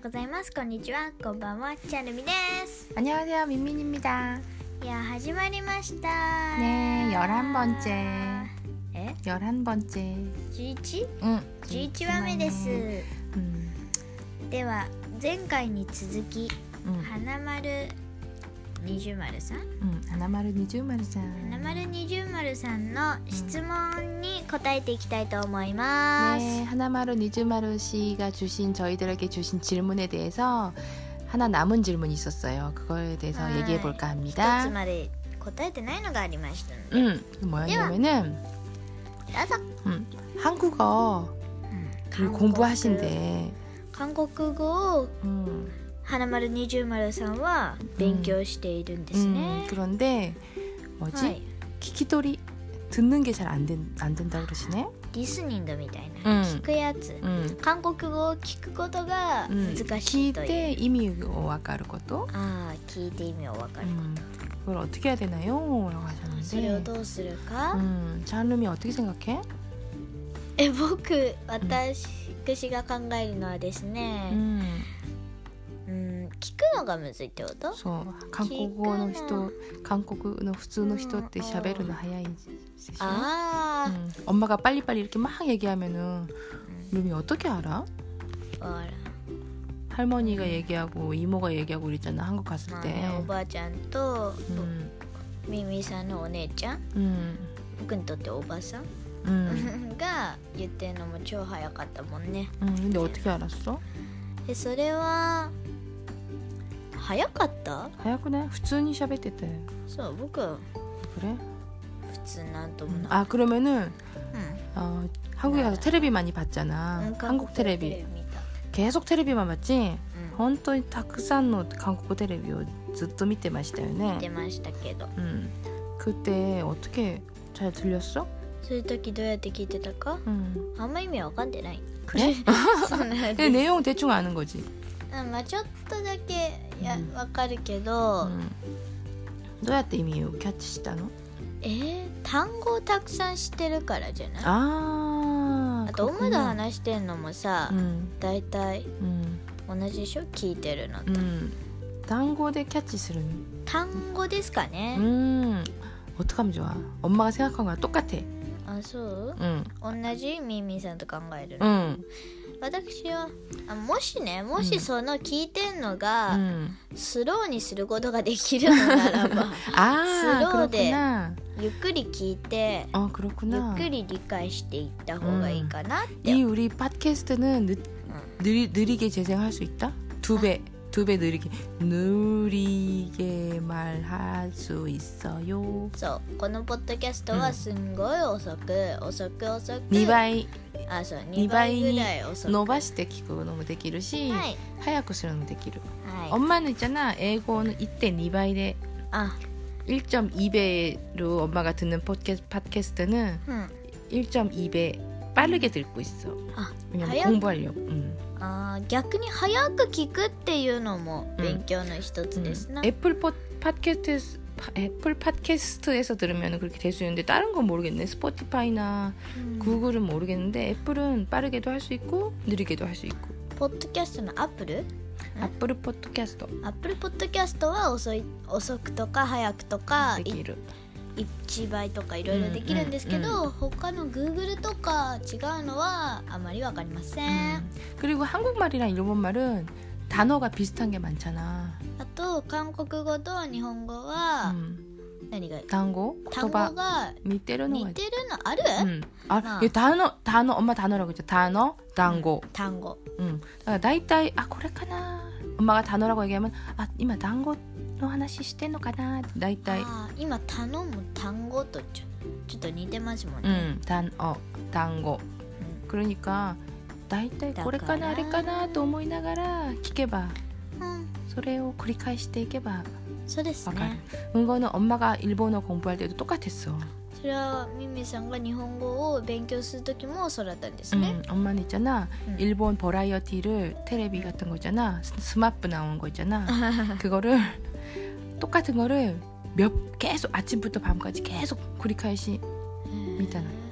ございます。こんにちは、こんばんは、チャルミです。 안녕하세요, 민민입니다. いや、始まりました。 네, 11번째. え 11번째. 11? 11 話目です。 では、前回に続き、花丸20丸さん、 花丸20丸さん、 花丸20丸さんの質問に答えていきたいと思います。 네, 하나마루 니즈마루 씨가 저희들에게 주신 질문에 대해서 하나 남은 질문이 있었어요. 그거에 대해서 얘기해 볼까 一 합니다. つまで答えてないのがありましたので、 그 뭐였냐면은 どうぞ。 한국어를 공부하신대. 韓国語を花丸20丸さんは勉強しているんですね。 그런데 뭐지? はい、 키키토리 듣는 게 잘 안 된다고 그러시네. リスニングみたいな、聞くやつ、韓国語を聞くことが難しいという、 聞いて意味を分かること。 聞いて意味を分かるこ 그걸 어떻게 해야 되나요? 라고 と、それを 하셨는데 どうするか、 자은름이 어떻게 생각해? 私が考えるのはですね、聞くのがむずいってこと？ そう、韓国語の人、韓国の普通の人って喋るの早いでしょ? 엄마가 빨리빨리 이렇게 막 얘기하면은 룸이 어떻게 알아? 할머니가 얘기하고 이모가 얘기하고 그랬잖아, 한국 갔을 때. おばあちゃんとミミさんのお姉ちゃん、僕にとっておばさんが言ってるのも超早かったもんね。 근데 어떻게 알았어? それは早かった？ 하얗구나. 普通に喋ってて. そう、僕は 그래? 普通なんともない。 아, 그러면은 한국에 가서 테레비 많이 봤잖아. 한국 테레비. 계속 테레비만 봤지? 本当にたくさんの韓国テレビをずっと見てましたよね。 見てましたけど。 그때 어떻게 잘 들렸어? そういう時どうやって聞いてたか？あんま意味わかんでない。 그래? 근데 내용 대충 아는 거지. まあちょっとだけわかるけど、 どうやって意味をキャッチしたの？ 単語をたくさん知ってるからじゃない？ あとオムで話してんのもさ、だいたい同じでしょ？聞いてるのと。 単語でキャッチするの？ 単語ですかね。 어떡하면 좋아? 엄마가 생각한 거랑 똑같아. あ、そう？ 同じミンミンさんと考える。 私はもしその聞いてんのが、スローにすることができるのならば、スローでゆっくり聞いて、ゆっくり理解していった方がいいかなって。 이 우리 팟캐스트는 느리게 재생할 수 있다? 두 배 느리게 말할 수 있어요. そう、このポッドキャストはすんごい遅く 2倍そう、2倍ぐらい遅く伸ばして聞くのもできるし、 早くするのもできる。 엄마는 있잖아, 애고는 1.2倍で 1.2배로 엄마가 듣는 팟캐스트는 1.2배 빠르게 듣고 있어. 왜냐면 공부하려고. 逆に早く聞くっていうのも勉強の一つですな。 애플 팟캐스트에서 들으면 그렇게 될 수 있는데 다른 건 모르겠네. 스포티파이나 구글은 모르겠는데 애플은 빠르게도 할 수 있고 느리게도 할 수 있고. ポッドキャストのアップルポッドキャストは遅くとか早くとかできる。 1倍とかいろいろできるんですけど、他の Google とか違うのはあまりわかりません。 그리고 한국말이랑 일본말은 단어가 비슷한 게 많잖아. あと韓国語と日本語は何が単語が似てるのある？ 이게 단어 엄마 단어라고 했죠. 단고. 그러니까 다이다이 그래까나 엄마가 단어라고 얘기하면 이마 단고の話してんのかなって大体。 今頼む単語とちょっと似てますもんね。 単語。 그러니까 다이다이これかなあれかなと思いながら聞けば、それを繰り返していけば。 そうですね。 이거는 엄마가 일본어 공부할 때도 똑같았어. それはミミさんが日本語を勉強する時もそうだったんですね。 엄마는 있잖아, 일본 버라이어티를 테레비 같은 거 있잖아, 스마프 나오는 거 있잖아, 그거를 똑같은 거를 계속 아침부터 밤까지 계속 繰り返し見たの。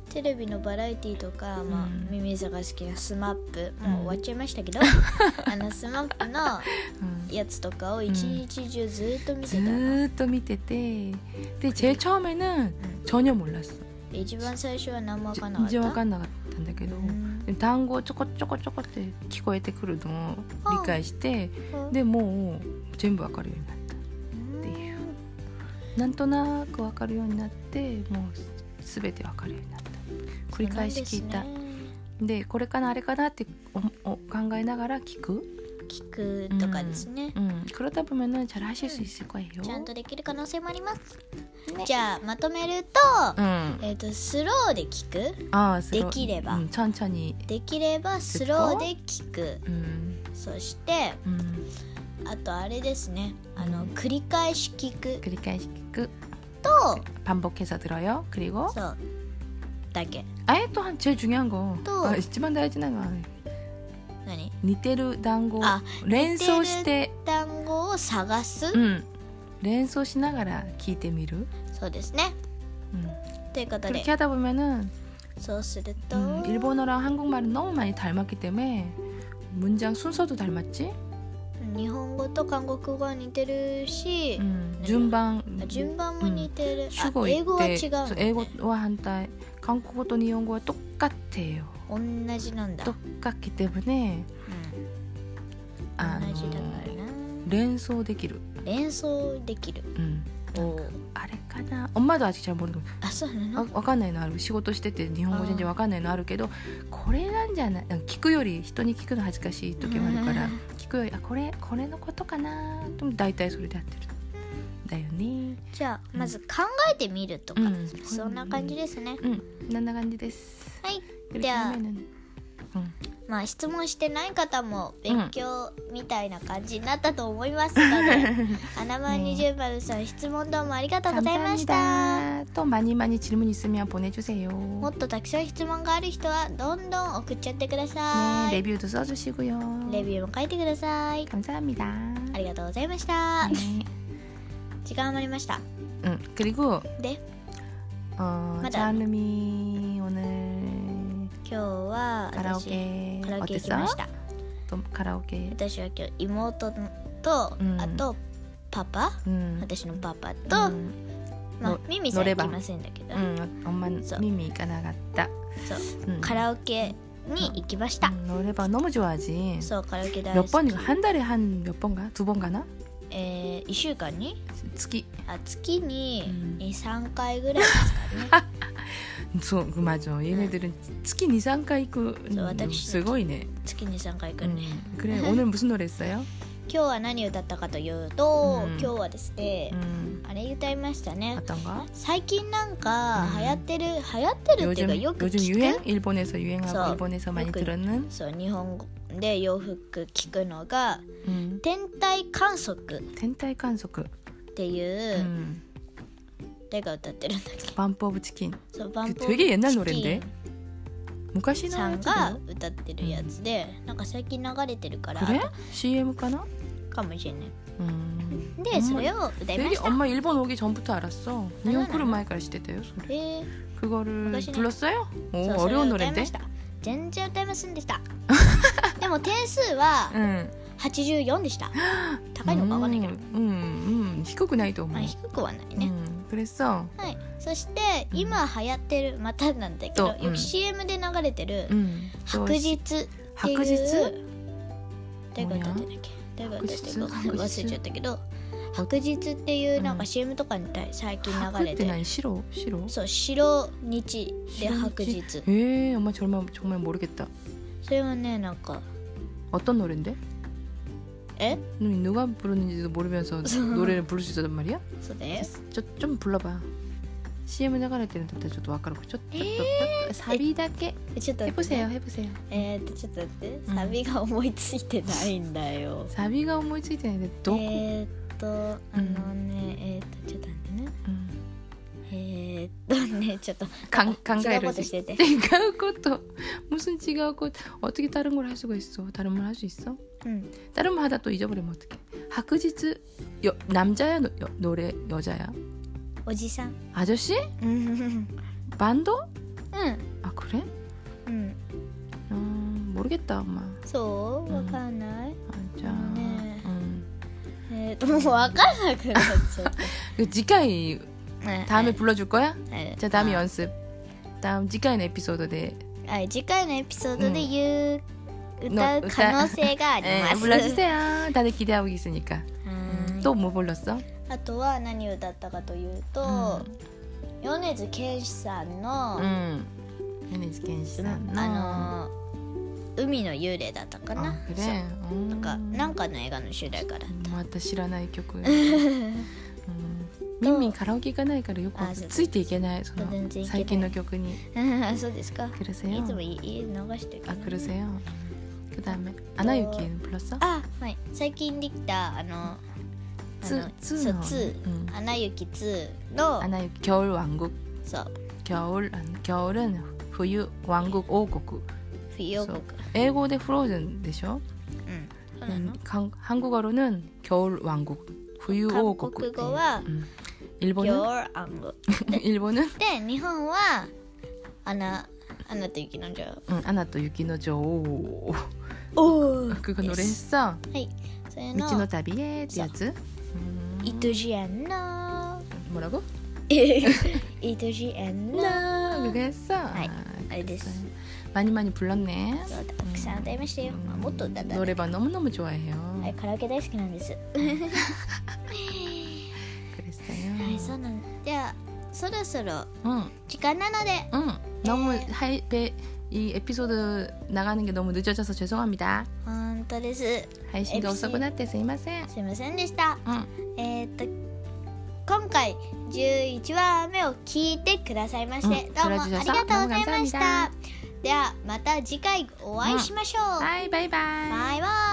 テレビのバラエティとか、ミミズが好きなスマップ、もう終わっちゃいましたけどスマップのやつとかを一日中ずっと見てたの、 ずっと見てて、で제일 처음에는 전혀 몰랐어。 一番最初は何も分かんなかった。 全然分かんなかったんだけど、単語ちょこちょこちょこって聞こえてくるのを理解して、でもう全部分かるようになったっていう、なんとなく分かるようになって、もう全て分かるようになった。繰り返し聞いた。でこれかなあれかなって考えながら聞くとかですね。 그러다 보면은 잘 하실 수 있을 거예요。 ちゃんとできる可能性もあります。じゃあまとめると、スローで聞く。できれば。 천천히。 できればスローで聞く。そして、あとあれですね。繰り返し聞く。 繰り返し聞く。 と、 반복해서 들어요。그리고。 そう。だけ。 또 제일 중요한 거. 이치만 다이지나 거. 何？ 似てる単語を連想して単語を探す、 連想しながら聞いてみる。 そうですね。ということで 그렇게 하다 보면은 そうすると 일본어랑 한국말은 너무 많이 닮았기 때문에 문장 순서도 닮았지? 日本語と韓国語は似てるし、 順番も似てる。 英語は違う、ね。 英語は反対。韓国語と日本語は똑같아요。 同じなんだ。 똑같기 때문에 同じだからな。 連想できる。あれかな。엄마도 아직 잘 모르는。 そうなの？ わかんないのある。仕事してて日本語全然わかんないのあるけど、これなんじゃない？聞くより人に聞くの恥ずかしい時もあるから、聞くよりこれのことかなと大体それでやってる。だよね。 じゃあまず考えてみるとか、そんな感じですね。 そんな感じです。 はい。では、質問してない方も勉強みたいな感じになったと思いますので、아나만20번さん質問どうもありがとうございました。 또 많이 질문 있으면 보내주세요。 もっとたくさん質問がある人はどんどん送っちゃってください。 レビューと써주시고요。 レビューも書いてください。 감사합니다。 ありがとうございました。時間余りました。 그리고 네. 자은미 오늘 今日はカラオケ行きました。 カラオケ。 私は今日妹と、あとパパ、私のパパと、ミミさん行きませんだけど、 ミミ行かなかった。 カラオケに行きました。 노래방 너무 좋아하지。 そう、カラオケ大好き。 몇 번인가? 한 달에 한 몇 번가? 2번 가나? 1週間に月に 2,3 回ぐらいですかね。 そう、맞아。얘네들은月 2,3回行く。すごいね。 月 2,3 回行くね。 그래。오늘 무슨 노래 했어요? 今日は何歌ったかというと、今日はですね、あれ歌いましたね。最近なんか流行ってるっていうかよく聞く。 요즘 유행? 일본에서 유행하고 일본에서 많이 들었는? そう、日本で洋服聞くのが、天体観測っていう誰が歌ってるんだっけ？ バンプオブチキン。 そう、バンプオブチキン。 되게 옛날 노래인데? 昔のさんが歌ってるやつで、なんか最近流れてるから。 그래? CMかな？ かもしれない。で、それを歌いました。 엄마 일본 오기 전부터 알았어. 일본来る前から知ってたよ、それ。그거를 불렀어요? 오, 어려운 노래인데? 全然歌いませんでした。でも点数は84でした。高いのかわかんないけど。 低くないと思う。 低くはないね。 그랬어。 はい。そして今流行ってる、またなんだけど、よく CM で流れてる白日っていう。 白日？ 誰が歌ってんだっけ？誰が歌ってるか忘れちゃったけど、白日っていうなんか CM とかに最近流れて。 白って何？白？ そう、白日で白日。 엄마 정말 모르겠다。 それはね、なんか。 어떤 노래인데? 누가 부르는지도 모르면서 노래를 부를 수 있었단 말이야? 좀 불러봐. CM 流れてるんだったらちょっとわかる。ちょっとサビだけ해보세요。ちょっと待って、サビが思いついてないんだよ。 サビが思いついてないでどこ？ ちょっと待ってね。ちょっと考える。 違うことしてて。 違うこと。무슨違うこと? 어떻게 다른 걸 할 수가 있어? 다른 걸 할 수 있어? 다른 말 하다 또 잊어버리면 어떡해? 학그지츠 남자야 노래 여자야? おじさん。 아저씨? 반도? 아 그래? 응. 모르겠다 엄마. そうわかんない。 じゃあね。 もうわかんなくなっちゃった。 次回다음에 불러줄 거야? 자 다음에 아. 연습. 다음 次回のエピソードで。 次回のエピソードで言う、歌う可能性があります。 불러주세요. 다들 기대하고 있으니까. 또 뭐 불렀어? あとは何を歌ったかというと、米津玄師さんの、 米津玄師さんの海の幽霊だったかな。 그래? なんかの映画の主題歌だった。 また知らない曲。ミンミンカラオケ行かないからよくついていけない。その最近の曲に。 そうですか。 いつも家流してるけど。 그러세요. 그다음에 아나유키는 불렀어? はい。最近できた2アナ雪2のアナ雪겨울 왕국. そう。 겨울은冬왕국王国. 冬王国. 英語でフローズンでしょ? 한국어로는 겨울 왕국,冬王国. 한국어와 일본은 겨울 왕국. 일본은 で日本はアナと雪の女王. 아나と雪の女王. 그거 노래 했어? はい. それの道の旅へってやつ? 이토지 않나. 뭐라고? 이토지 않나. 그거 했어? はい。あれです. 많이 불렀네. そうたくさん歌いましたよ。もっと歌ったね。 노래방 너무너무 좋아해요. はい、カラオケ大好きなんです。 그랬어요. はい、そうなんではそろそろ時間なので、 너무 이 에피소드 나가는 게 너무 늦어져서 죄송합니다. 本当です。 配信が遅くなってすいません。 すいませんでした。今回11話目を聞いてくださいまして、どうもありがとうございました。ではまた次回お会いしましょう。 はい、バイバイ。 バイバイ。